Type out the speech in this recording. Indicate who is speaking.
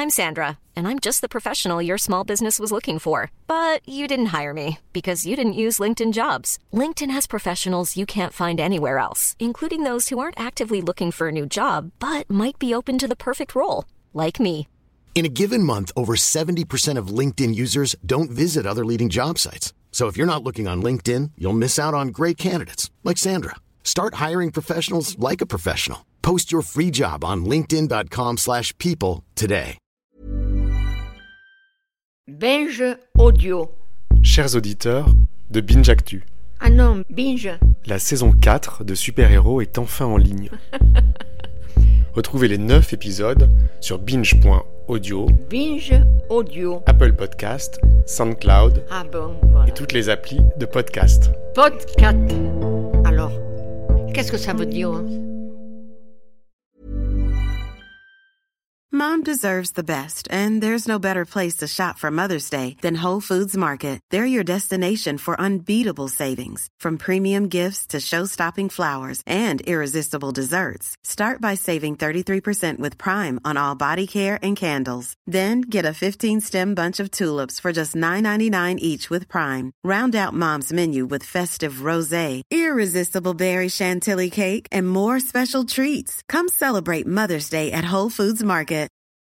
Speaker 1: I'm Sandra, and I'm just the professional your small business was looking for. But you didn't hire me because you didn't use LinkedIn Jobs. LinkedIn has professionals you can't find anywhere else, including those who aren't actively looking for a new job, but might be open to the perfect role, like me.
Speaker 2: In a given month, over 70% of LinkedIn users don't visit other leading job sites. So if you're not looking on LinkedIn, you'll miss out on great candidates like Sandra. Start hiring professionals like a professional. Post your free job on linkedin.com/people today.
Speaker 3: Binge Audio.
Speaker 4: Chers auditeurs de Binge Actu.
Speaker 3: Ah non, Binge.
Speaker 4: La saison 4 de Super Héros est enfin en ligne. Retrouvez les 9 épisodes sur binge.audio,
Speaker 3: Binge Audio.
Speaker 4: Apple Podcast, SoundCloud
Speaker 3: Ah bon, voilà.
Speaker 4: et toutes les applis de podcast.
Speaker 3: Podcast. Alors, qu'est-ce que ça veut dire hein?
Speaker 5: Mom deserves the best, and there's no better place to shop for Mother's Day than Whole Foods Market. They're your destination for unbeatable savings, from premium gifts to show-stopping flowers and irresistible desserts. Start by saving 33% with Prime on all body care and candles. Then get a 15-stem bunch of tulips for just $9.99 each with Prime. Round out Mom's menu with festive rosé, irresistible berry chantilly cake, and more special treats. Come celebrate Mother's Day at Whole Foods Market.